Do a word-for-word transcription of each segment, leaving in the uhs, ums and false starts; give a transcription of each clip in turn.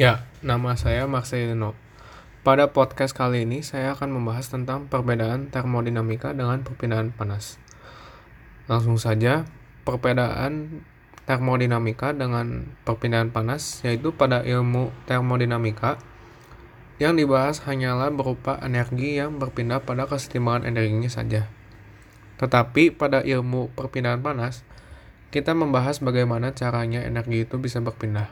Ya, nama saya Marcelino. Pada podcast kali ini saya akan membahas tentang perbedaan termodinamika dengan perpindahan panas. Langsung saja, perbedaan termodinamika dengan perpindahan panas yaitu pada ilmu termodinamika yang dibahas hanyalah berupa energi yang berpindah pada kesetimbangan energinya saja. Tetapi pada ilmu perpindahan panas, kita membahas bagaimana caranya energi itu bisa berpindah.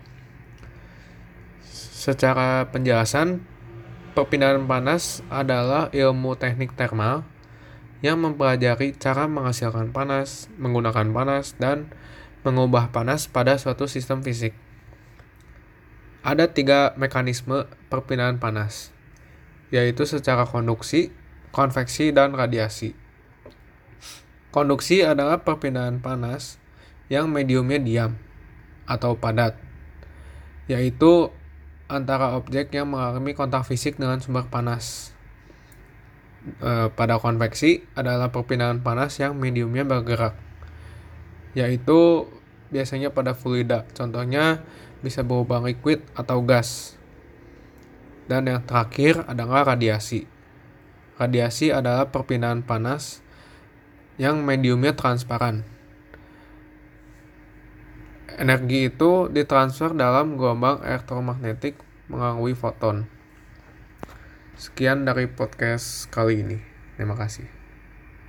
Secara penjelasan, perpindahan panas adalah ilmu teknik termal yang mempelajari cara menghasilkan panas, menggunakan panas, dan mengubah panas pada suatu sistem fisik. Ada tiga mekanisme perpindahan panas, yaitu secara konduksi, konveksi, dan radiasi. Konduksi adalah perpindahan panas yang mediumnya diam atau padat, yaitu antara objek yang mengalami kontak fisik dengan sumber panas. E, pada konveksi adalah perpindahan panas yang mediumnya bergerak, yaitu biasanya pada fluida, contohnya bisa berupa liquid atau gas. Dan yang terakhir adalah radiasi. Radiasi adalah perpindahan panas yang mediumnya transparan. Energi itu ditransfer dalam gelombang elektromagnetik melalui foton. Sekian dari podcast kali ini. Terima kasih.